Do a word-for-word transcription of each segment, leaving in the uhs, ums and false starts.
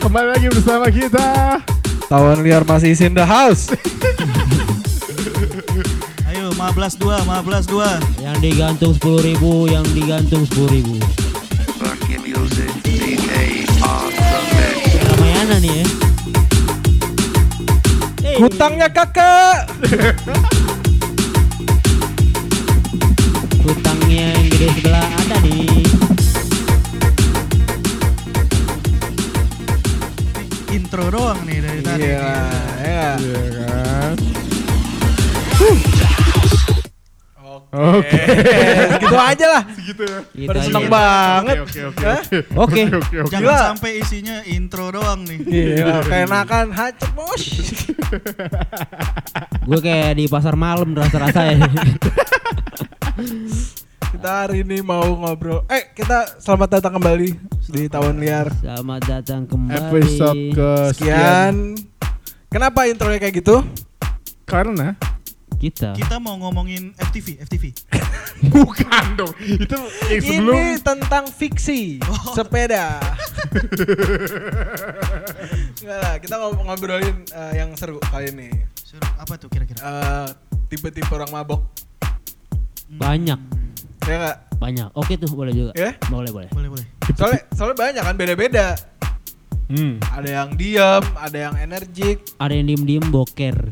kembali lagi bersama kita. Tawan liar masih in the house. Ayo, lima belas dua, lima belas dua. Yang digantung sepuluh ribu, yang digantung sepuluh ribu. Ramayana nih ya. Hey. Hutangnya kakak. Hutangnya yang gede sebelah ada nih. Intro doang nih dari tadi. Iya, ya. Iya kan. Oke. Gitu aja lah. Segitu ya. Gitu Pada aja. seneng banget. Oke oke Hah? Oke. oke oke. Jangan Gila. sampai isinya intro doang nih. Iya, keenakan hacet bos. Gue kayak di pasar malam rasa-rasa ya. Kita hari ini mau ngobrol. Eh, kita selamat datang kembali di Tawan Liar. Selamat datang kembali. Episode ke Sekian. Kenapa intronya kayak gitu? Karena Kita. Kita mau ngomongin F T V, F T V. bukan dong. Itu yang sebelum Ini tentang fiksi Oh. sepeda. Enggak lah, kita ngom- ngobrolin uh, yang seru kali ini. Suruh, apa tuh kira-kira? Uh, tipe-tipe orang mabok. Banyak. Ya enggak? Banyak. Oke tuh boleh juga. Ya? Boleh boleh. Boleh, boleh. Soalnya soalnya banyak kan, beda-beda. Hmm. Ada yang diam, ada yang energik. Ada yang diem-diem boker.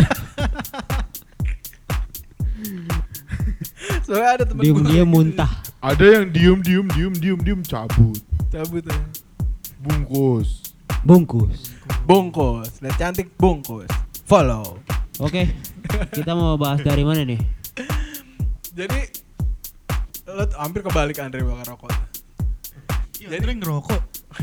Soalnya ada temen Diem-diem gua muntah. Ada yang diem diem diem diem diem cabut. cabut ya. Bungkus. Bungkus. Bungkus, lihat cantik bungkus. Follow. Oke. Kita mau bahas dari mana nih? Jadi lo t- hampir kebalik Andre bakar rokok. Iya, Andre ngerokok.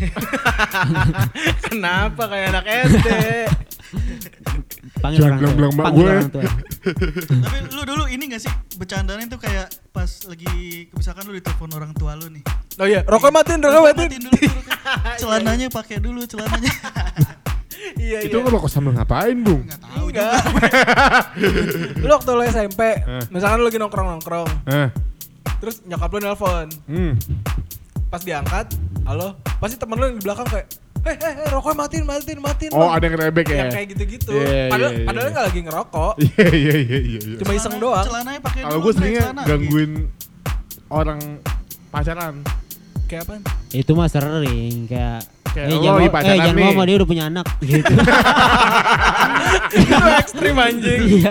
Kenapa kayak anak S D? Panggil Jangan orang tua. bilang-bilang mak Panggil gue. orang tua. Tapi lu dulu ini gak sih bercandanya tuh kayak pas lagi misalkan lu ditelepon orang tua lu nih. Oh iya, rokok matiin, rokok Rokok matiin. matiin dulu, dulu. Celananya pakai dulu celananya. Iya Itu iya. ngerokok sambil ngapain, Bung? Enggak tahu juga. Enggak. Lu waktu lu S M P, Eh. misalkan lu lagi nongkrong-nongkrong, Eh. terus nyokap lu nelpon, Hmm. pas diangkat, halo, pasti temen lu yang di belakang kayak, eh eh eh rokoknya matiin, matiin, matiin. Oh, Bang." ada yang rebek ya? Yang kayak gitu-gitu. Iya, Padahal iya, iya. padahal nggak lagi ngerokok, Iya iya iya iya. iya. cuma iseng Celana- doang. Celananya pakai dulu. Kalau gue pakai seringnya celana. gangguin orang pacaran. Kayak apa? Itu mah sering kayak Kayak eh, lo jangan lagi mau, eh pacaran jangan nih. ngomong dia udah punya anak gitu. Itu ekstrim anjing. Iya.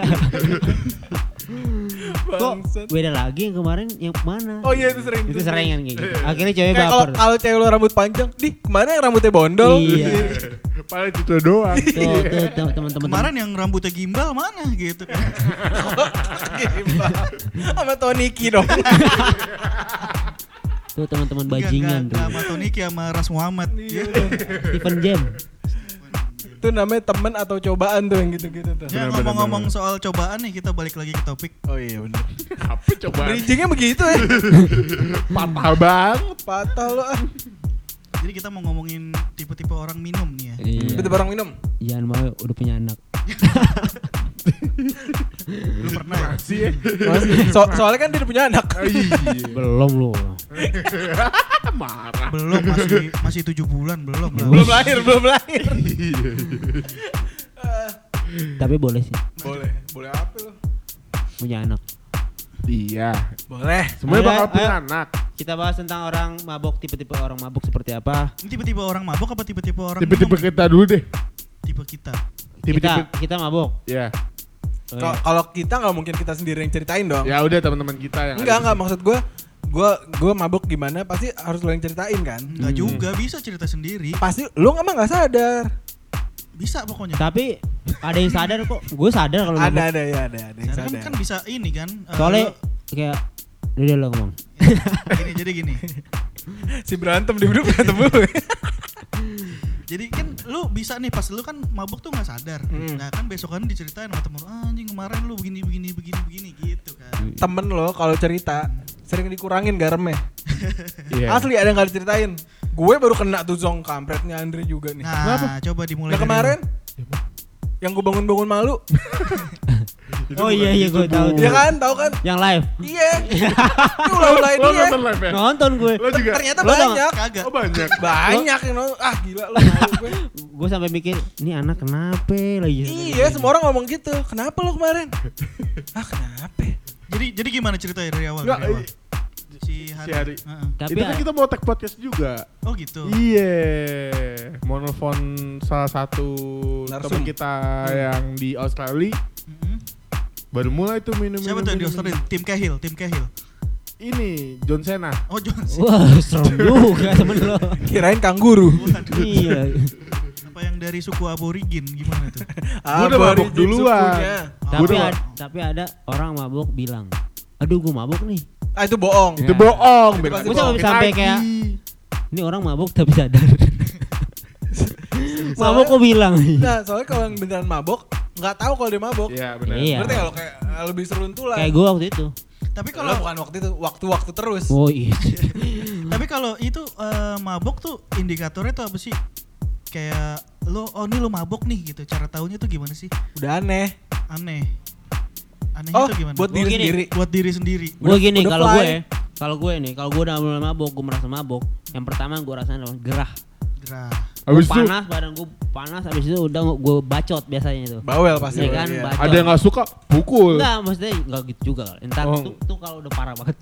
Kok Bangsat. beda lagi yang kemarin yang mana? Oh iya itu sering. Itu sering kan kayak gitu. Akhirnya cewek Kayak kalau baper. kalau cewek lu rambut panjang, di kemana yang rambutnya bondol? Iya. Padahal itu doang. Tuh, tuh tuh, teman-teman. Kemarin yang rambutnya gimbal mana gitu kan. Gimana? Sama Toniki dong. Tuh teman-teman bajingan tuh. Enggak sama Toniki sama Ras Muhammad. Iya. Stephen Jam. Itu namanya temen atau cobaan tuh yang gitu-gitu tuh. Ya Benar, ngomong-ngomong benar, soal cobaan nih, kita balik lagi ke topik. Oh iya benar. Apa coba? Bridgingnya begitu ya. Patah banget. Patah lo ah. Jadi kita mau ngomongin tipe-tipe orang minum nih ya. Iya. Tipe orang minum. Jangan mau udah punya anak. Lu pernah ya? Masih ya. So- soalnya kan dia udah punya anak. Iya. Belum lu. Marah. Belum, masih masih tujuh bulan belum lah. Belum lahir, belum lahir. Iya. Ah, Tapi boleh sih boleh, boleh apa lo? punya anak. Iya. Boleh. Semuanya Ayo, bakal punya ayo. anak. Kita bahas tentang orang mabok, tipe-tipe orang mabok seperti apa. Ini tipe-tipe orang mabok apa tipe-tipe orang Tipe-tipe minum? kita dulu deh. Tipe kita. Tipe-tipe. Kita kita mabok. Ya. Oh, Kalau iya. kalau kita nggak mungkin kita sendiri yang ceritain dong. Ya udah teman-teman kita yang Enggak, ada enggak maksud gue. Gue gue mabuk gimana pasti harus lo yang ceritain kan. Enggak Hmm. juga, bisa cerita sendiri. Pasti lo emang nggak sadar. Bisa pokoknya. Tapi ada yang sadar kok. Gue sadar kalau Ada mabok. ada ya ada ada yang Karena kan, sadar. kan bisa ini kan. eh, Soalnya lu- kayak udah lo ngomong. gini, jadi gini. Si berantem di hidup berantem mulu. Jadi kan lu bisa nih pas lu kan mabuk tuh nggak sadar. Hmm. Nah kan besokan diceritain sama temen lu, ah, anjing kemarin lu begini begini begini begini gitu kan. Temen lo kalau cerita sering dikurangin garamnya. Iya. Asli ada yang nggak diceritain. Gue baru kena tuh zong kampretnya Andre juga nih. Nah, coba dimulai Nah dari kemarin lu. yang gue bangun-bangun malu. Oh iya iya gue tahu. Iya kan, tahu kan? Yang live. Iya. Ini ulah-ulahin Lo dia. nonton live ya? Nonton gue. Lo juga? Ternyata Lo tau banyak. Kagak. Oh banyak. Banyak yang nonton. Ah gila lu malu gue. Gue sampai mikir, ini anak kenapa lagi? Iya, semua orang ngomong gitu. Kenapa lu kemarin? Ah kenapa? Jadi jadi gimana ceritanya dari awal? Enggak, dari awal? i- Si Hari. si Hari. Heeh. Tapi itu kan a- kita mau tag podcast juga. Oh gitu. Iya, mau nelfon salah satu Narsum. teman kita yang di Australia. Mm-mm. Baru mulai tuh minum. Siapa tuh yang di Australia? Tim Cahill, tim Cahill. Ini John Cena. Oh Jones. wah serem juga temen lo. Kirain kangguru. Waduh. Iya. Apa yang dari suku aborigin gimana tuh? Gua udah mabuk Aborigin duluan. sukunya. Tapi Gua ada, tapi ada orang mabuk bilang, aduh gue mabuk nih. Ah itu bohong. Itu Ya. bohong. Itu bener. pasti Gue sampai Bohongin sampai lagi. kayak, ini orang mabuk tapi sadar. Soalnya- Mabuk kok bilang. Nah, soalnya kalau yang beneran mabok, nggak tahu kalau dia mabok. Iya benar. Iya. Berarti kalau kayak eh, lebih seruntulan. Kayak gue waktu itu. Tapi Kalau kalau bukan waktu itu, waktu-waktu terus. Oh iya. tapi kalau itu eh, mabok tuh indikatornya tuh apa sih? Kayak lo oh ini lo mabok nih gitu. Cara tahunya tuh gimana sih? Udah aneh. Aneh. Anehnya Oh, tuh gimana? buat Gua diri gini. sendiri. buat diri sendiri. Gue gini udah kalau fly. gue, kalau gue nih, kalau gue udah mulai mabok, gue merasa mabok. Yang pertama gue rasain adalah gerah. Gerah. Gua Habis itu panas, badan gue panas. Habis itu udah gue bacot biasanya itu. Bawel pasti. Iya kan, Iya. bacot. ada yang nggak suka pukul. Enggak, maksudnya enggak gitu juga kali. Entar Oh. tuh, tuh kalau udah parah banget.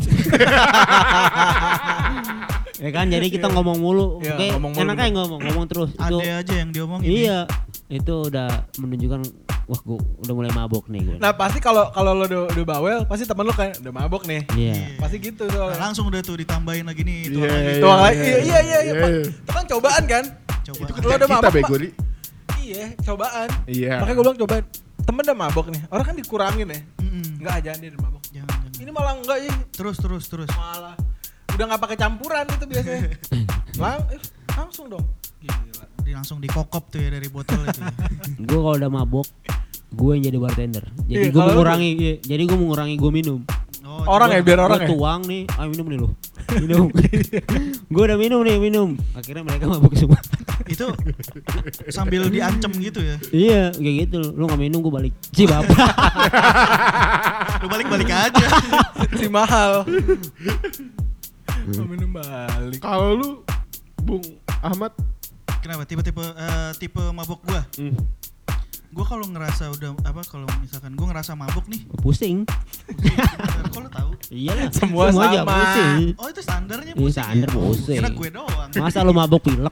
Ya kan, jadi kita ngomong mulu. Iya, Oke, ngomong mulu, enak aja ngomong, ngomong terus. Itu Ada aja yang diomongin. iya, itu udah menunjukkan wah gue udah mulai mabok nih gue. Nah pasti kalau kalau lo udah, udah bawel, pasti temen lo kayak udah mabok nih. Iya. Pasti gitu Nah, soalnya. langsung udah tuh ditambahin lagi nih itu Iya, lagi. Tuang lagi. Iya iya iya. iya, Iya, Pak. iya. Itu kan cobaan kan? Coba. Itu Lo kerjaan udah kita mabok, bego Pak. Li. Iya, cobaan. Iya. Makanya gue bilang cobaan. Temen udah mabok nih. Orang kan dikurangin ya. Mm-mm. Enggak aja dia udah mabok. Jangan jangan. Ini malah enggak ya. Terus terus terus. Malah udah nggak pakai campuran itu biasanya. Lang eh, langsung dong. Gila. Di langsung dikokop tuh ya dari botol itu. Ya. Gue kalau udah mabok, gue yang jadi bartender. Jadi Iya, gue kalau lu- mengurangi, iya, jadi gue mengurangi gue minum. Oh, Orang coba. ya biar orang Gue ya. tuang nih, ayo minum nih lo. Minum. Gue udah minum nih, minum. Akhirnya mereka mabuk semua. Itu sambil diancem gitu ya. Iya, kayak gitu. Lu nggak minum gue balik. Ci bapak. Lu balik-balik aja. Si mahal. Mau minum balik. Kalau lu Bung Ahmad, Kenapa tipe-tipe eh, tipe mabok gua? hmm. Gua kalau ngerasa udah apa kalau misalkan gua ngerasa mabok nih. Pusing. Kok lu tahu? Iyalah. Semua aja sama. pusing. Oh, itu standarnya Iya, pusing. standar ya? pusing. Kira gue doang. Masa lu mabok pilek?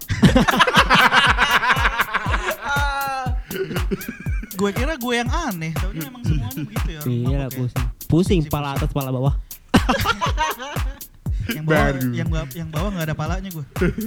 Gue kira gue yang aneh, taunya emang semuanya begitu ya orang Iya lah mabok ya. pusing. Pusing, pala atas, pala bawah. Yang bawah, Baru. yang bawah, yang bawah nggak ada palanya gue.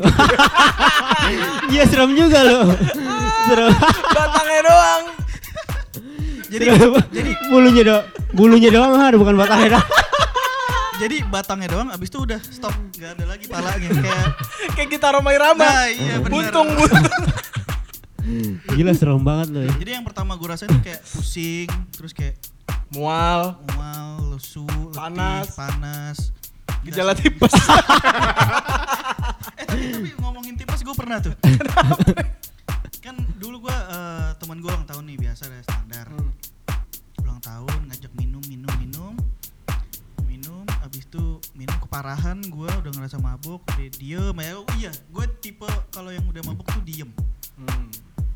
Iya serem juga lo. Serem. Batangnya doang. Jadi Serem. jadi bulunya doang, bulunya doang ada bukan batangnya doang. jadi batangnya doang, abis itu udah stop, nggak ada lagi palanya kayak. Kayak kita Roma Irama. Nah iya benar. Buntung buntung. Gila serem banget lo. Jadi yang pertama gue rasain tuh kayak pusing, terus kayak Mual. mual, lesu, letih, Panas. panas. Gejala tipes. Eh tapi tapi ngomongin tipes gue pernah tuh. Kan dulu gue uh, teman gue ulang tahun nih biasa deh standar. Hmm. Ulang tahun ngajak minum minum minum minum, abis itu minum keparahan gue udah ngerasa mabuk, udah diem ya. Oh iya, gue tipe kalau yang udah mabuk tuh diem. Hmm.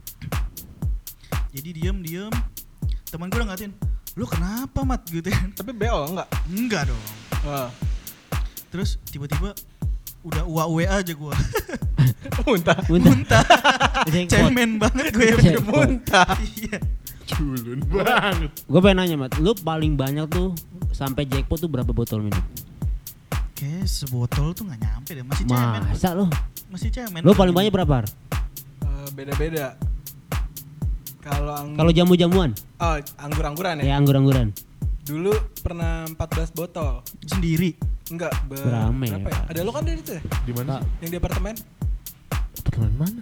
Jadi diem diem. Teman gue udah ngatain, lu kenapa mat gitu kan? Tapi B O enggak? Enggak dong. Wah. Terus tiba-tiba udah U A W aja gue. Muntah. Muntah. Muntah. Jackpot. Cemen banget gue ya. Jackpot. Muntah. Iya. Culun banget. Gue pengen nanya Mat, lu paling banyak tuh sampai jackpot tuh berapa botol minum? Kayak sebotol tuh gak nyampe deh. Masih cemen. Masa lo? Masih cemen. Lu paling banyak berapa? Har? Eh, beda-beda. Kalau ang- Kalau jamu-jamuan? oh, anggur-angguran ya? Ya anggur-angguran. Dulu pernah empat belas botol. Sendiri. Enggak, ber- Berame berapa ya, ya? Pak. Ada lo kan dari itu ya? Di mana? sih? Yang di apartemen? Apartemen mana?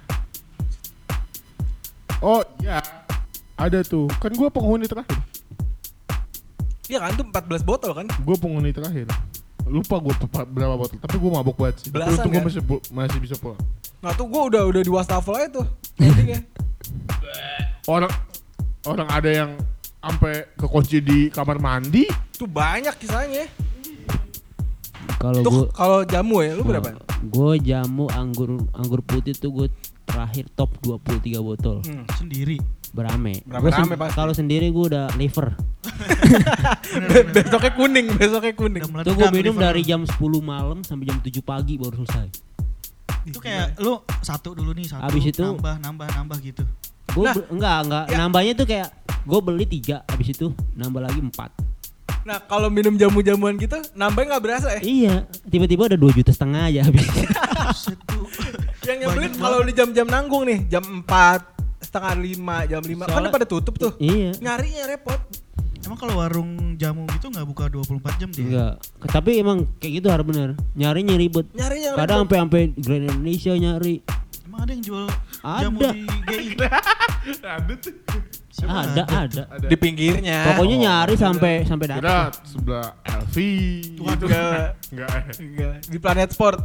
Oh ya, ada tuh. Kan gua penghuni terakhir. Iya kan, itu empat belas botol kan? Gua penghuni terakhir. Lupa gua pe- berapa botol, tapi gua mabok banget sih. Tapi Belasan untung gua kan? masih bu- masih bisa pulang. Nah tuh gue udah udah di wastafel aja tuh. Endingnya. Orang orang ada yang sampai kekunci di kamar mandi. Tuh banyak kisahnya. Kalau Tuh gue kalau jamu ya, lu berapa? gue jamu anggur anggur putih tuh gue terakhir top dua puluh tiga botol Hmm. Sendiri. berame. Berame-rame Gua sen- pasti. Kalau sendiri gue udah liver. Be- besoknya kuning, besoknya kuning. Udah Tuh gue meledak minum liver dari lu. jam sepuluh malam sampai jam tujuh pagi baru selesai. Itu kayak lu satu dulu nih, satu Abis itu- nambah nambah nambah gitu. Gue Nah, enggak enggak ya. nambahnya tuh kayak gue beli tiga habis itu nambah lagi empat. Nah kalau minum jamu-jamuan gitu nambahnya nggak berasa ya? Iya, tiba-tiba ada dua juta setengah aja habis. Buset tuh. Yang nyebelin Banyak kalau di jam-jam nanggung nih, jam empat, setengah lima, jam lima, kan Soalnya- pada tutup tuh. Iya. Nyarinya repot. Emang kalau warung jamu gitu nggak buka dua puluh empat jam dia? Enggak. Tapi emang kayak gitu harus bener. Nyarinya ribet. Nyarinya Kadang repot. sampai sampai Grand Indonesia nyari. Emang ada yang jual Ada. jamu di G I? Ada tuh. Siapa Ada, ada. Ada. Di pinggirnya. Pokoknya Oh, nyari sampai sampai Kira dapat. sebelah L V gitu. Enggak. Enggak. Enggak. Di Planet Sport.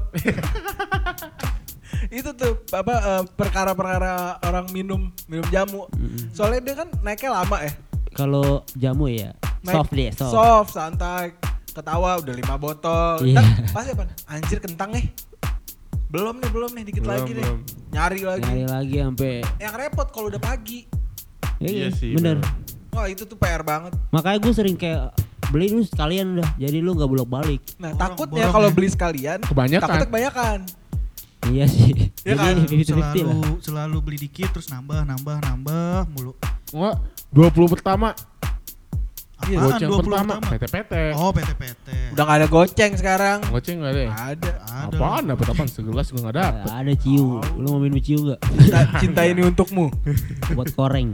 Itu tuh apa eh, perkara-perkara orang minum minum jamu. Soalnya dia kan naiknya lama ya. Kalau jamu ya Naik soft deh, soft. Soft, santai. Ketawa udah lima botol. Iya. Ntar pasti apa? Anjir kentang nih. Belum nih, belum nih, dikit Belum, lagi nih. belum. Nyari lagi. Nyari lagi sampai Yang repot kalau udah pagi. Iya sih, bener. bener. Wah itu tuh P R banget. Makanya gue sering kayak beli dulu sekalian udah. Jadi lu nggak bolak-balik. Nah Borong, takutnya borong kalau ya. beli sekalian, Kebanyakan. takutnya kebanyakan. Iya sih. Iya kan? Jadi fifty fifty lah. Selalu selalu beli dikit terus nambah nambah nambah mulu. Enggak. dua puluh pertama. Iya, Apaan Goceng dua puluh pertama. P T P T. Oh, P T P T. Udah gak ada goceng sekarang. Goceng enggak deh. Ada. Ada. Apaan dapat apaan segelas juga enggak dapet. Ada ciu. Lu mau minum ciu nggak? Cinta, cinta ini untukmu. Buat koreng.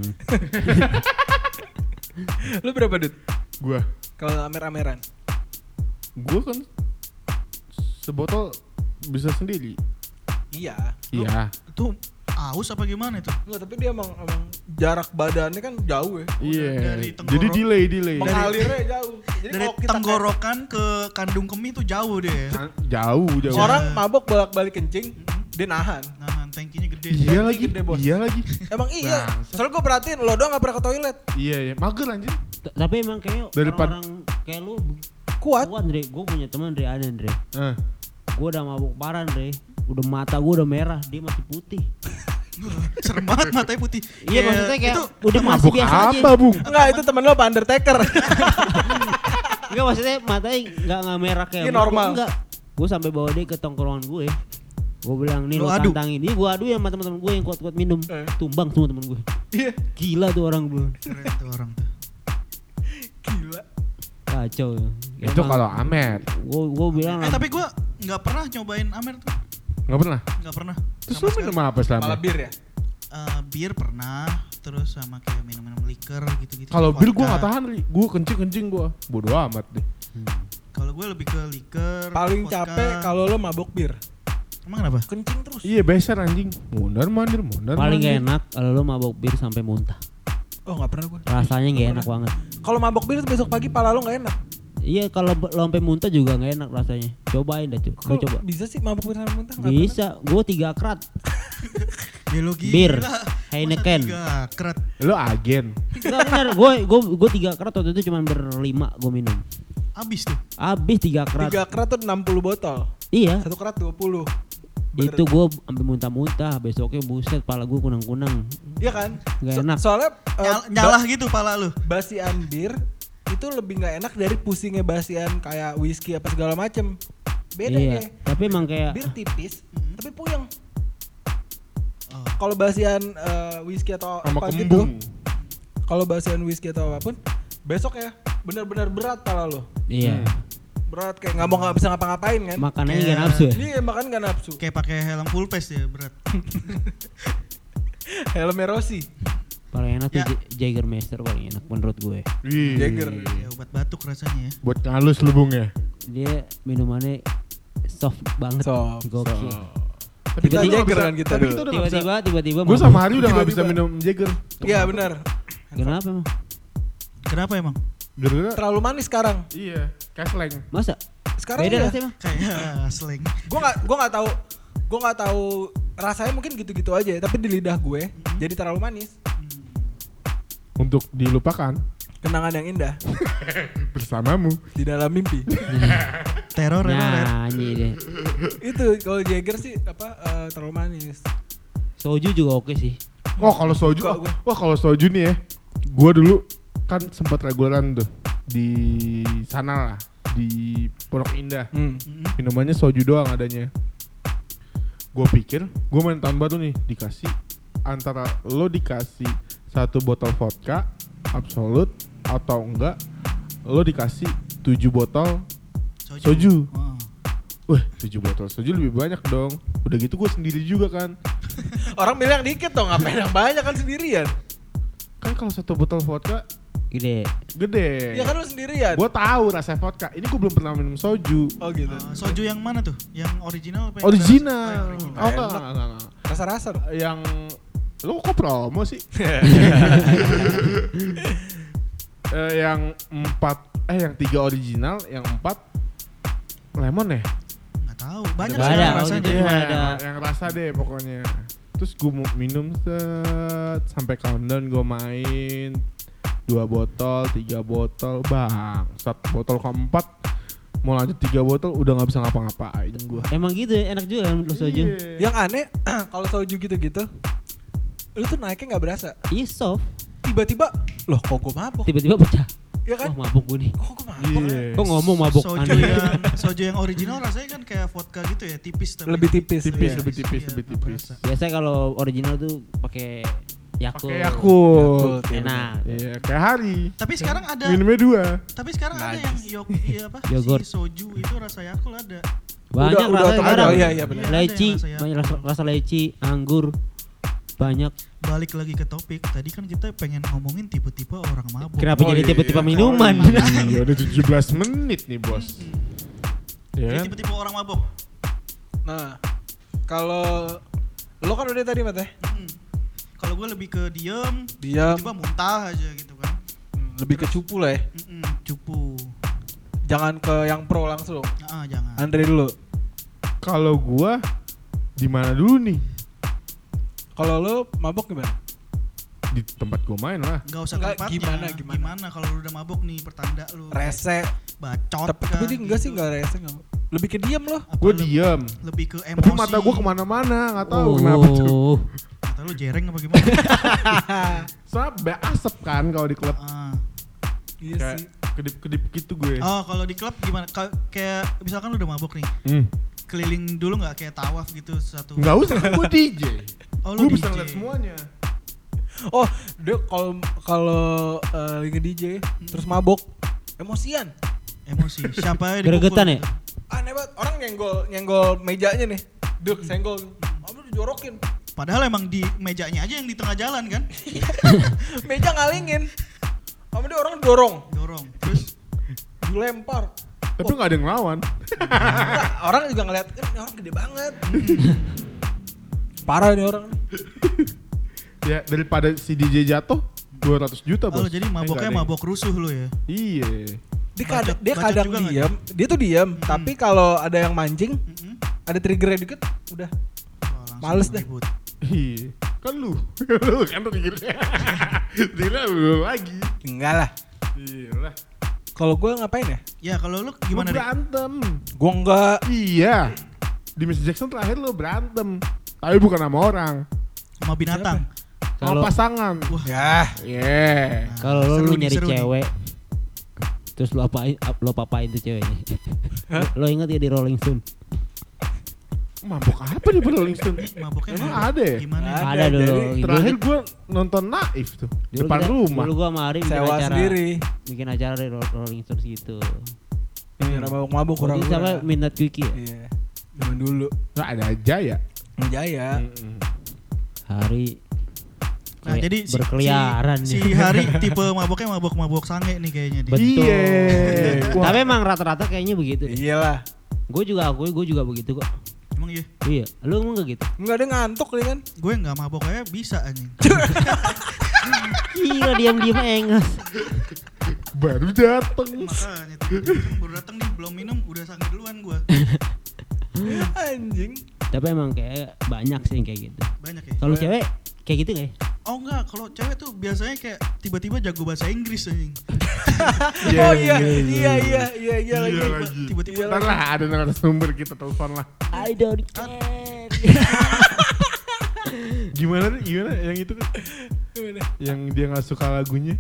Lu berapa Dut? Gua. Kalau amer-ameran? Gua kan sebotol bisa sendiri. Iya. Iya. Itu aus apa gimana itu? Enggak, tapi dia emang, emang jarak badannya kan jauh ya. Iya. dari tenggorok. Jadi delay delay. Mengalirnya jauh. Jadi Dari kalau kita tenggorokan ke kandung kemih tuh jauh deh. Kan jauh jauh. kayak- orang mabok bolak-balik kencing, dia nahan. Nah, tankinya gede. Iya Ini lagi. gede, Bos. Iya lagi. Emang iya. Bangsat. Soalnya gue perhatiin lo doang gak pernah ke toilet. Iya ya. Mager anjir. T- Tapi emang kayak Daripada- orang kayak lu Kuat. kuat Andre. Gue punya teman Andre ada Andre. Eh. Gue udah mabuk parah Andre. Udah mata gue udah merah, dia masih putih. Serem banget matanya putih. Iya maksudnya kayak itu udah masih Mabuk biasa aja. apa, Bung? Enggak, itu temen lo apa Undertaker. Enggak maksudnya matanya enggak enggak merah kayak Ini gua. normal. Enggak. Gue sampai bawa dia ke tongkrongan gue. Gue bilang nih Lu lo adu? tantangin. Ini gue adu ya sama teman-teman gue yang kuat-kuat minum. Eh. Tumbang semua teman gue. Iya. Gila tuh orang gue. keren tuh orang tuh. Gila. Kacau ya. Itu kalau Amer. Gue gue bilang Eh lah, tapi gua nggak pernah nyobain Amer tuh. Enggak pernah. Nggak pernah. Terus Sama lu sekali. minum apa selama? Malah bir ya? Eh, bir pernah, terus sama kayak minum-minum liker gitu-gitu. Kalau bir gua Vodka. enggak tahan, Ri. Gua kencing-kencing gua. Bodoh amat deh. Kalau gue lebih ke liker. Paling vodka. capek kalau lo mabok bir. Emang kenapa? Kencing terus. Iya, beser anjing. Mondar mandir, mondar paling mandir. gak enak kalau lo mabok bir sampai muntah. Oh gak pernah gue. Rasanya gak enak banget. Kalau mabok bir besok pagi pala lo gak enak. Iya kalau b- lo sampai muntah juga gak enak rasanya. Cobain dah cuy. Gue Kok coba. bisa sih mabok bir sampai muntah? Nggak Bisa. Gue tiga krat. Ya lo gila. Bir. Masa Heineken. tiga krat. Lo agen. Enggak bener. Gue gue gue tiga krat waktu itu cuma berlima gue minum. Abis tuh. Abis tiga pernah. krat. Tiga kerat tuh enam puluh botol. Iya. Satu kerat dua puluh. Itu gue sampai muntah-muntah. Besoknya buset, pala gue kunang-kunang. Iya kan? Nggak enak. Soalnya eh, Nyal- nyalah gitu pala lu. ba- basian bir itu lebih nggak enak dari pusingnya basian kayak whisky apa segala macem. Beda Iya. ya. Tapi emang kayak Bir tipis, tapi puyeng. Oh. Kalau basian eh, whisky atau Sama apa gitu, kembung. kalau basian whisky atau apapun, besok ya benar-benar berat pala lo. iya. Berat kayak nggak mau nggak bisa ngapa-ngapain kan? Makanannya Kayak- gak nafsu ya. Iya makan nggak nafsu. Kayak pakai helm full face ya berat. Helmnya Rossi. Paling enak tuh Ya. J- Jägermeister paling enak menurut gue. Wih. Jagger. Ya obat batuk rasanya ya. Buat ngalus lu, Bung ya. Dia minumannya soft banget. Soft, Gokil. Tapi Kita kita udah Jagger bisa- kan kita tapi dulu. kita udah nggak bisa. Tiba-tiba tiba-tiba Gue mabuk. sama Hari udah nggak bisa Tiba-tiba. minum Jagger. Iya benar. Kenapa emang? Kenapa emang? Gara-gara Terlalu manis sekarang. iya, kasleng. Masa? Sekarang Beda iya. rasanya emang? Kayak slang. Gue nggak gue nggak tahu gue nggak tahu rasanya mungkin gitu-gitu aja tapi di lidah gue jadi terlalu manis. Untuk dilupakan. Kenangan yang indah Bersamamu. di dalam mimpi. Teror, teror, teror. Nyanyi deh. Itu kalau Jagger sih apa eh, terlalu manis. Soju juga oke sih. Oh kalau soju, Suka oh, gue. wah kalau soju nih ya, gue dulu kan sempat reguleran tuh di sana lah, di Pondok Indah. Hmm. Minumannya soju doang adanya. Gue pikir, gue main tahun baru nih, dikasih antara lo dikasih satu botol vodka Absolut atau enggak lo dikasih tujuh botol soju. Oh. Wah, tujuh botol soju lebih banyak dong. Udah gitu gue sendiri juga kan. Orang bilang dikit dong, ngapain yang banyak kan sendirian. Kan kalau satu botol vodka Gede. gede. Ya kan lu sendirian. Gue tahu rasa vodka. Ini gue belum pernah minum soju. Oh gitu. Uh, soju yang mana tuh? Yang original apa? yang Original. rasa- oh, yang Oh original. enggak, enggak, enggak, enggak. Rasa-rasa dong. Yang lo kok promo sih? Eh, yang empat eh yang tiga original, yang empat lemon ya? Nggak tahu. Banyak Nggak sih ada, rasanya. oh, Iya, cuma ada. yang, yang rasa deh pokoknya. Terus gue mau minum set sampai countdown, gue main dua botol, tiga botol, bang. Satu botol keempat mau lanjut tiga botol udah nggak bisa ngapa-ngapain gue. Emang gitu ya, enak juga kan lo soju. Yang aneh kalau soju gitu-gitu, lu tuh naiknya nggak berasa. Iya soft. Tiba-tiba, loh kok gue mabok? Tiba-tiba pecah. Ya kan? Wah mabuk gue nih. Kok gue mabok? ya? Iya. Kok ngomong mabuk Soju aneh. yang soju yang original rasanya kan kayak vodka gitu ya, tipis tapi. Lebih tipis. Tipis, Iya. lebih tipis, Iya, lebih nggak tipis. berasa. Biasanya kalau original tuh pakai Yakult. Pakai Yakult. Enak. Iya, kayak hari. Tapi sekarang ada Minumnya dua. tapi sekarang ada yang yok iya apa? Yogurt. Si soju itu rasa Yakult ada. Banyak Udah- udah rasanya ada, sekarang. iya, iya, benar. Leci, Ada yang rasa banyak rasa, rasa leci, anggur. Banyak. Balik lagi ke topik. Tadi kan kita pengen ngomongin tipe-tipe orang mabuk. Kenapa Oh, jadi iya. tipe-tipe minuman? Iya, udah tujuh belas menit nih, Bos. Kayak Iya kan? tipe-tipe orang mabuk. Nah, kalau lo kan udah tadi Mat ya? Mm. Kalau gue lebih ke diem, Diam, tiba muntah aja gitu kan. hmm, lebih ke cupu lah ya. Mm-mm, cupu. Jangan ke yang pro langsung. Ah, jangan. Andre dulu. Kalau gua di mana dulu nih? Kalau lo mabok gimana? Di tempat gua main lah. Gak usah Enggak, tempatnya. gimana, gimana? kalau lu udah mabuk nih pertanda lu. Rese. Bacot. Tapi, tapi kah, dia enggak sih gitu. enggak rese enggak. Lebih ke diam loh. Apa Gua le- diem. Lebih ke emosi. Tapi mata gua kemana-mana, nggak tahu kenapa tuh. Oh, Kata lu jereng apa gimana? Soalnya be- asap kan kalau di klub. Ah. Iya Kayak sih. kedip-kedip gitu gue. Oh, kalau di klub gimana? Ka- kayak misalkan lu udah mabuk nih. Hmm. Keliling dulu nggak kayak tawaf gitu satu. Nggak usah kan gua D J. Oh, lu Gua bisa D J. ngeliat semuanya. Oh, dia kalau kalau eh, lagi D J terus mabok, emosian. Emosi. Siapa yang Gregetan ya? Aneh banget, orang nyenggol nyenggol mejanya nih. Duk, senggol. Kamu dijorokin. Padahal emang di mejanya aja yang di tengah jalan kan. Meja ngalingin. Kamu dia orang dorong, Dorong. Terus dilempar. Tapi nggak ada yang ngelawan. Enggak, orang juga ngeliat, "Eh, ini orang gede banget." Parah nih orang. Ya daripada si D J jatuh dua ratus juta, oh, Bos. jadi Eh, maboknya nggak ada mabok rusuh lu ya. yang- Iya. Dia Bacot- kadang dia bacot kadang juga nggak diam, dia tuh diam, Hmm. tapi kalau ada yang mancing, Mm-mm. ada triggernya dikit, udah. Wah, langsung Males dah. ribut. Iya. Kan lu. Lu kan triggernya. Triggernya lu lagi. Enggak lah. Iya lah. Kalau gue ngapain ya? Ya kalau lu Lu gimana Rik? berantem. Gue enggak. Iya. Di Mister Jackson terakhir lu berantem. Tapi bukan sama orang. Sama binatang? Sama Kalau pasangan. Ya. Yeah. Nah, kalau lo seru lu nih, nyari seru nih. cewek, terus lo apain, ap- lo papain tuh ceweknya. Lo inget ya di Rolling Stone? Mabok apa nih Rolling Stone? Maboknya Emang mabok. ada ya? Gimana? Ada, Ada dulu. jadi Dulu Terakhir kita- gue nonton Naif tuh. dulu Depan kita- rumah. Dulu gua sama Ari bikin Sewa acara, sendiri. bikin acara di Ro- Rolling Stone gitu. Biar mabuk-mabuk Waktu kurang. itu sama Midnight Quickie ya? Iya. Zaman dulu. Nah, ada aja ya. Jaya. Mm-mm. Hari Nah, kayak jadi si- berkeliaran si, si nih. Hari tipe maboknya mabok-mabok sange nih kayaknya dia. Betul. Iya. Wah. Tapi emang rata-rata kayaknya begitu. Iyalah. Gue juga akui, gue juga begitu kok. Emang iya? Iya, lu emang gak gitu? Enggak ada ngantuk dia kan. Gue nggak mabok aja bisa anjing. Gila diam-diam engas. Baru dateng. Makanya tuh, kan baru datang nih belum minum udah sange duluan gue. Anjing. Tapi emang kayak banyak sih yang kayak gitu. Banyak ya. Kalau cewek kayak gitu gak ya? Oh enggak, kalau cewek tuh biasanya kayak tiba-tiba jago bahasa Inggris anjing. Oh iya, iya iya iya iya lagi. Iya lagi. Tiba-tiba Ntar lah ada narasumber kita telepon lah. I don't care. Gimana nih? Gimana yang itu kan? Gimana? Yang dia nggak suka lagunya?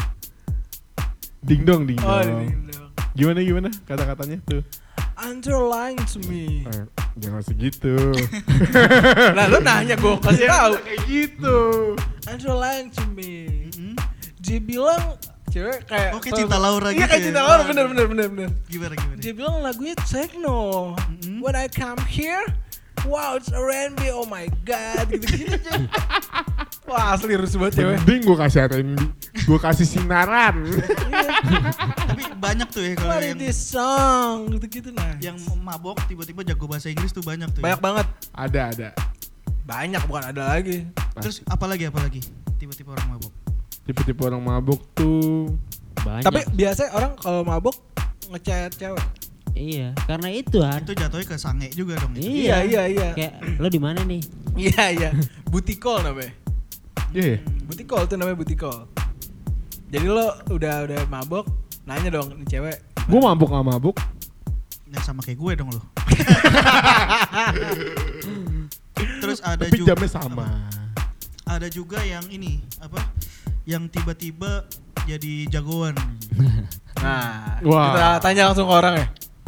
Ding dong, ding Oh, dong. ding dong. Gimana gimana kata-katanya tuh? Underline to me. Eh, jangan segitu. Nah lu nanya gue kasih tahu. Kayak gitu. Underline to me. Mm-mm. Dia bilang cewek kayak Oke, Cinta Laura Iya gitu kayak ya. Cinta Laura Oh, bener iya. bener bener bener. Gimana gimana? Dia bilang lagunya techno. Mm-mm. When I come here, wow it's R and B, oh my god gitu-gitu. Wah asli rusuh banget cewek. Mending gue kasih R and B, gue kasih sinaran. Tapi banyak tuh ya kalau What yang is this song gitu-gitu nah. yang mabok tiba-tiba jago bahasa Inggris tuh banyak tuh. Banyak ya. banget. Ada ada. Banyak bukan ada lagi. Terus apalagi apalagi? Tiba-tiba orang mabok. Tipe-tipe orang mabuk tuh. Banyak. Tapi biasanya orang kalau mabok ngechat cewek. iya, karena itu kan. Itu jatuhnya ke sange juga dong itu. Iya iya iya. Kayak lo di mana nih? Iya iya. Booty call namanya. Iya. Yeah. Booty call tuh namanya booty call. Jadi lo udah udah mabok, nanya dong nih cewek. Gue mabuk nggak mabuk? Nah, sama kayak gue dong lo. Terus ada Tapi juga jamnya sama. ada juga yang ini apa? Yang tiba-tiba jadi jagoan. Nah, Wah. kita tanya langsung ke orang ya.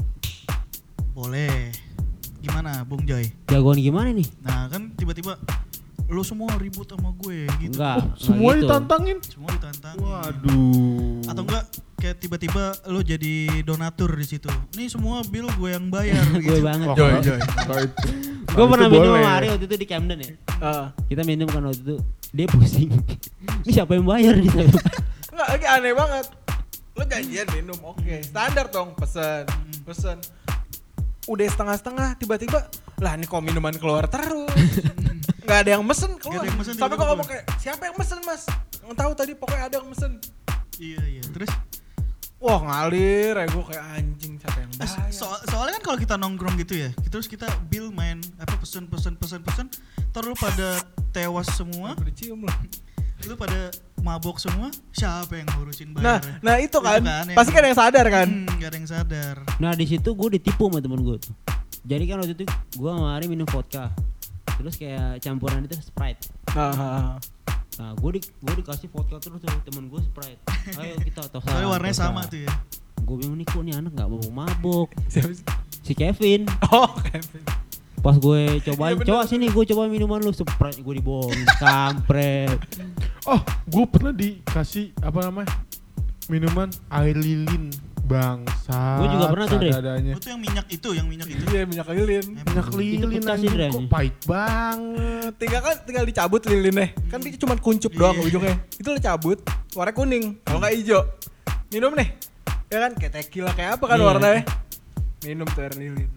Boleh. Gimana, Bung Joy? Jagoan gimana nih? Nah, kan tiba-tiba lo semua ribut sama gue gitu. Enggak. Oh, enggak semua gitu. ditantangin. Semua ditantang. Waduh. Atau enggak kayak tiba-tiba lo jadi donatur di situ. Nih semua bill gue yang bayar Gue gitu. banget. Wah, Joy, kalau- Joy. kalau itu- Gue kalau pernah itu minum boleh. sama Ari waktu itu di Camden ya. Heeh. Kita minum kan waktu itu. Dia pusing. Ini siapa yang bayar nih? Enggak, lagi aneh banget. Lo janjian minum, oke. Standar dong, pesen, pesen. Udah setengah-setengah, tiba-tiba, lah ini kok minuman keluar terus. Nggak ada yang mesen keluar. Nggak ada yang mesen, Sampai tiba-tiba kok ngomong kayak, siapa yang mesen mas? Nggak tahu tadi pokoknya ada yang mesen. Iya, iya. Terus Wah ngalir ya gue kayak anjing siapa yang eh, bayar. so- soalnya kan kalau kita nongkrong gitu ya, terus kita bill main apa pesen pesen pesen pesen, terus lu pada tewas semua, Udah cium loh. lu pada mabok semua, siapa yang ngurusin Nah, bayar? nah itu kan, yang- pasti kan yang sadar kan. Hmm, gak ada yang sadar. Nah di situ gue ditipu sama temen gue tuh. Jadi kan waktu itu gue sama Ari minum vodka. Terus kayak campuran itu Sprite. Nah, Nah gue di gue dikasih vodka terus tuh temen gue Sprite. Ayo kita tosa. Soalnya warnanya tosa. sama tuh ya. Gue bingung nih kok nih anak nggak mau mabuk. siapa sih? Si Kevin. Oh Kevin. Pas gue cobain, Iya, bener. coba sini gue coba minuman lu, Sprite gue dibohong, kampret. Oh, gue pernah dikasih apa namanya? Minuman air lilin. Bangsa. Gua juga pernah tuh, Dre. Adanya. Lu tuh yang minyak itu, yang minyak itu. Iya minyak lilin. Minyak lilin bekas anjing, sih, Dre, kok anjing. pahit banget. Tinggal kan tinggal dicabut lilinnya. Kan dia cuma kuncup doang Iya. ujungnya. Itu lo cabut, warna kuning. Kalau nggak hijau. Minum nih. Ya kan kayak tequila kayak apa kan Iya. warnanya? Minum tuh air lilin.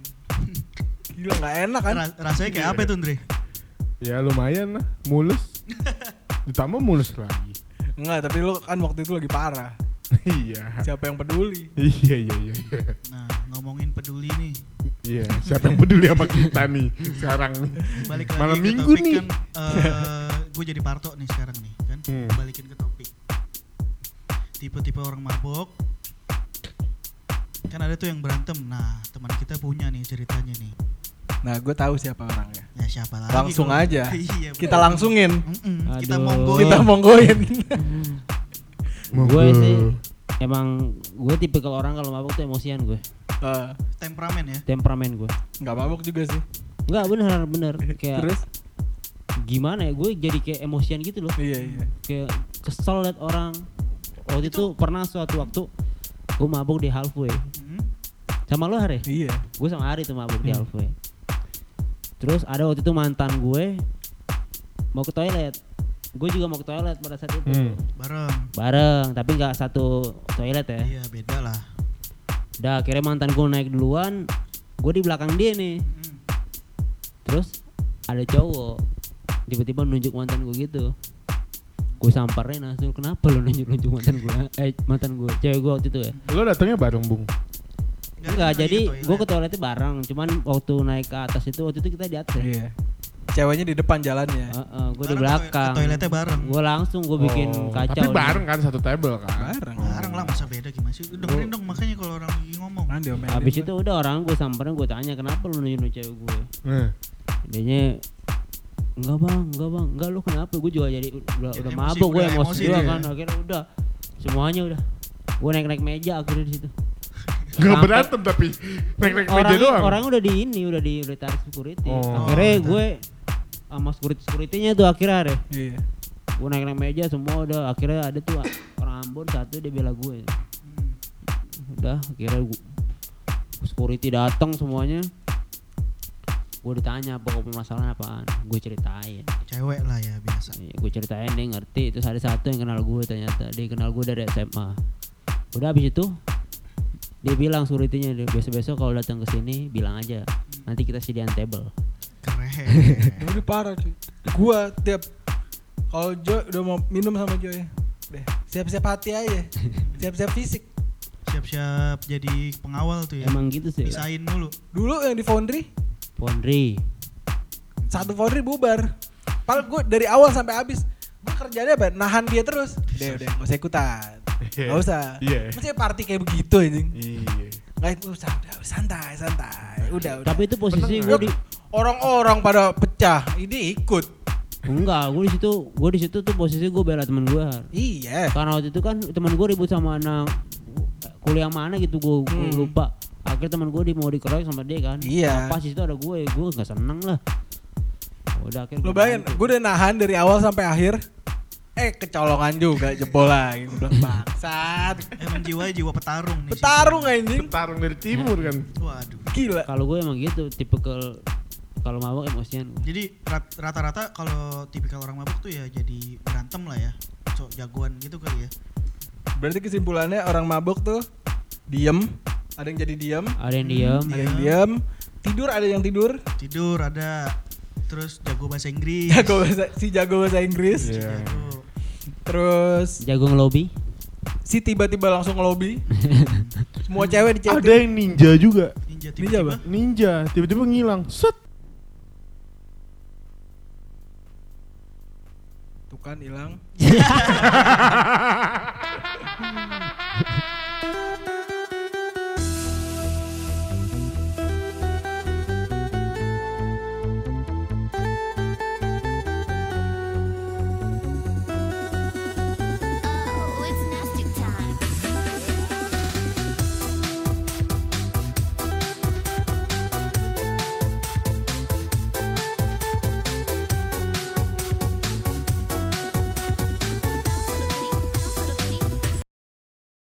Gila nggak enak kan? Ra- rasanya kayak apa itu, Andre? Ya lumayan lah, mulus. Ditambah mulus lagi. Enggak, tapi lu kan waktu itu lagi parah. Iya. Siapa yang peduli? Iya iya iya. Nah, ngomongin peduli nih. Iya, siapa yang peduli sama kita nih sekarang nih. Balik lagi Malam ke minggu topik nih. kan eh gue jadi Parto nih sekarang nih kan. Hmm. Balikin ke topik. Tipe-tipe orang mabok. Kan ada tuh yang berantem. Nah, teman kita punya nih ceritanya nih. Nah, gue tahu siapa orangnya. Ya siapa lagi? Langsung kalau- aja. Iya, Kita bener. langsungin. Mm-mm, Kita Aduh. monggoin. Kita monggoin. Gue sih emang gue tipikal orang kalau mabuk tuh emosian gue, Eh, Temperamen ya. temperamen gue. nggak mabuk juga sih. Enggak bener bener kayak Terus? gimana ya, gue jadi kayak emosian gitu loh, Iya iya. kayak kesel liat orang. Waktu itu, pernah suatu waktu gue mabuk di Halfway Mm. sama lo Hari. Iya. Gue sama Ari tuh mabuk di Hmm. Halfway. Terus ada waktu itu mantan gue mau ke toilet, gue juga mau ke toilet pada saat itu. Hmm. Bareng. Bareng tapi nggak satu toilet ya. Iya, beda lah. Udah akhirnya mantan gue naik duluan, gue di belakang dia nih. Mm. Terus ada cowok tiba-tiba nunjuk mantan gue gitu. Gue samperin langsung, kenapa lo nunjuk-nunjuk mantan gue? Eh mantan gue, cewek gue waktu itu ya. Lo datangnya bareng, Bung. Nggak, Enggak, lagi jadi ke toilet. gue ke toiletnya bareng. Cuman waktu naik ke atas itu, waktu itu kita di atas ya. Iya. ceweknya di depan jalannya. Heeh, gue di Bareng ke- belakang. ke toiletnya bareng. Gue langsung gue bikin Oh, kacau. Tapi nih. bareng kan satu table kan. Bareng. Bareng lah, masa beda gimana sih? Dengerin dong makanya kalau orang lagi ngomong. Kan diomelin. Habis itu udah orang gue samperin, gue tanya kenapa lu nunjuk cewek gue. Nah, Dianya enggak bang, enggak bang, enggak lu kenapa? Gue juga jadi udah, Jadi udah emosi, mabuk, gue udah emosi emosi juga dia. kan. Akhirnya udah semuanya udah. Gue naik-naik meja akhirnya di situ. Gak Sampai- berantem tapi naik-naik meja Orangnya, doang. orang udah di ini, udah di udah tarik security. Oh. Akhirnya Oh, gue sama security securitynya tuh akhirnya deh. Iya. Gue naik-naik meja semua udah. Akhirnya ada tuh orang Ambon satu dia bela gue. Hmm. Udah akhirnya gue, security datang semuanya. Gue ditanya pokok permasalahan apaan. Gue ceritain. Cewek lah ya biasa. Iya, gue ceritain dia ngerti. Terus ada satu yang kenal gue ternyata. Dia kenal gue dari S M A. Udah habis itu dia bilang security-nya, dia besok-besok kalau datang ke sini bilang aja. Nanti kita sediain table. Keren. Udah parah cuy. Gua tiap kalau Jo udah mau minum sama Jo ya. Deh, siap-siap hati aja. Siap-siap fisik. Siap-siap jadi pengawal tuh ya. Emang gitu sih. Pisahin dulu. Dulu yang di Foundry, Pondri. satu Foundry bubar. Padahal gue dari awal sampai habis gue kerjanya apa? Nahan dia terus. Udah, udah, gak usah ikutan. Gak usah. Iya. Maksudnya party kayak begitu anjing. Iya. Gak itu santai, santai, santai. Udah, udah. Tapi itu posisi gue di Orang-orang pada pecah, ini ikut. enggak, gue di situ, gue di situ tuh posisi gue bela temen gue. Iya. Karena waktu itu kan teman gue ribut sama anak kuliah mana gitu, gue Hmm. lupa. Akhirnya teman gue di mau dikeroyok sama dia kan. Iya. Nah, pas di situ ada gue, gue nggak seneng lah. Udah akhirnya Lo gua bayangin, bantu. gue udah nahan dari awal sampai akhir. Eh kecolongan juga jebol lagi. Gue bilang bangsat. Emang jiwa jiwa petarung nih. Petarung anjing. Tarung dari timur kan. Waduh. Gila. Kalau gue emang gitu, tipe ke kalau mabok emosian. Jadi rat- rata-rata kalau tipikal orang mabuk tuh ya jadi berantem lah ya. So, jagoan gitu kali ya. Berarti kesimpulannya orang mabuk tuh diem. Ada yang jadi diem. Ada yang diem, Ada yang diem. Tidur ada yang tidur. Tidur ada. Terus jago bahasa Inggris. Jago bahasa, si jago bahasa Inggris. Iya. Jago. Terus jago ngelobi. si tiba-tiba langsung ngelobi. Semua cewek di Ada chatting. yang ninja juga. Ninja Ninja apa? tiba-tiba. Ninja tiba-tiba ngilang. Set. Tuh kan hilang.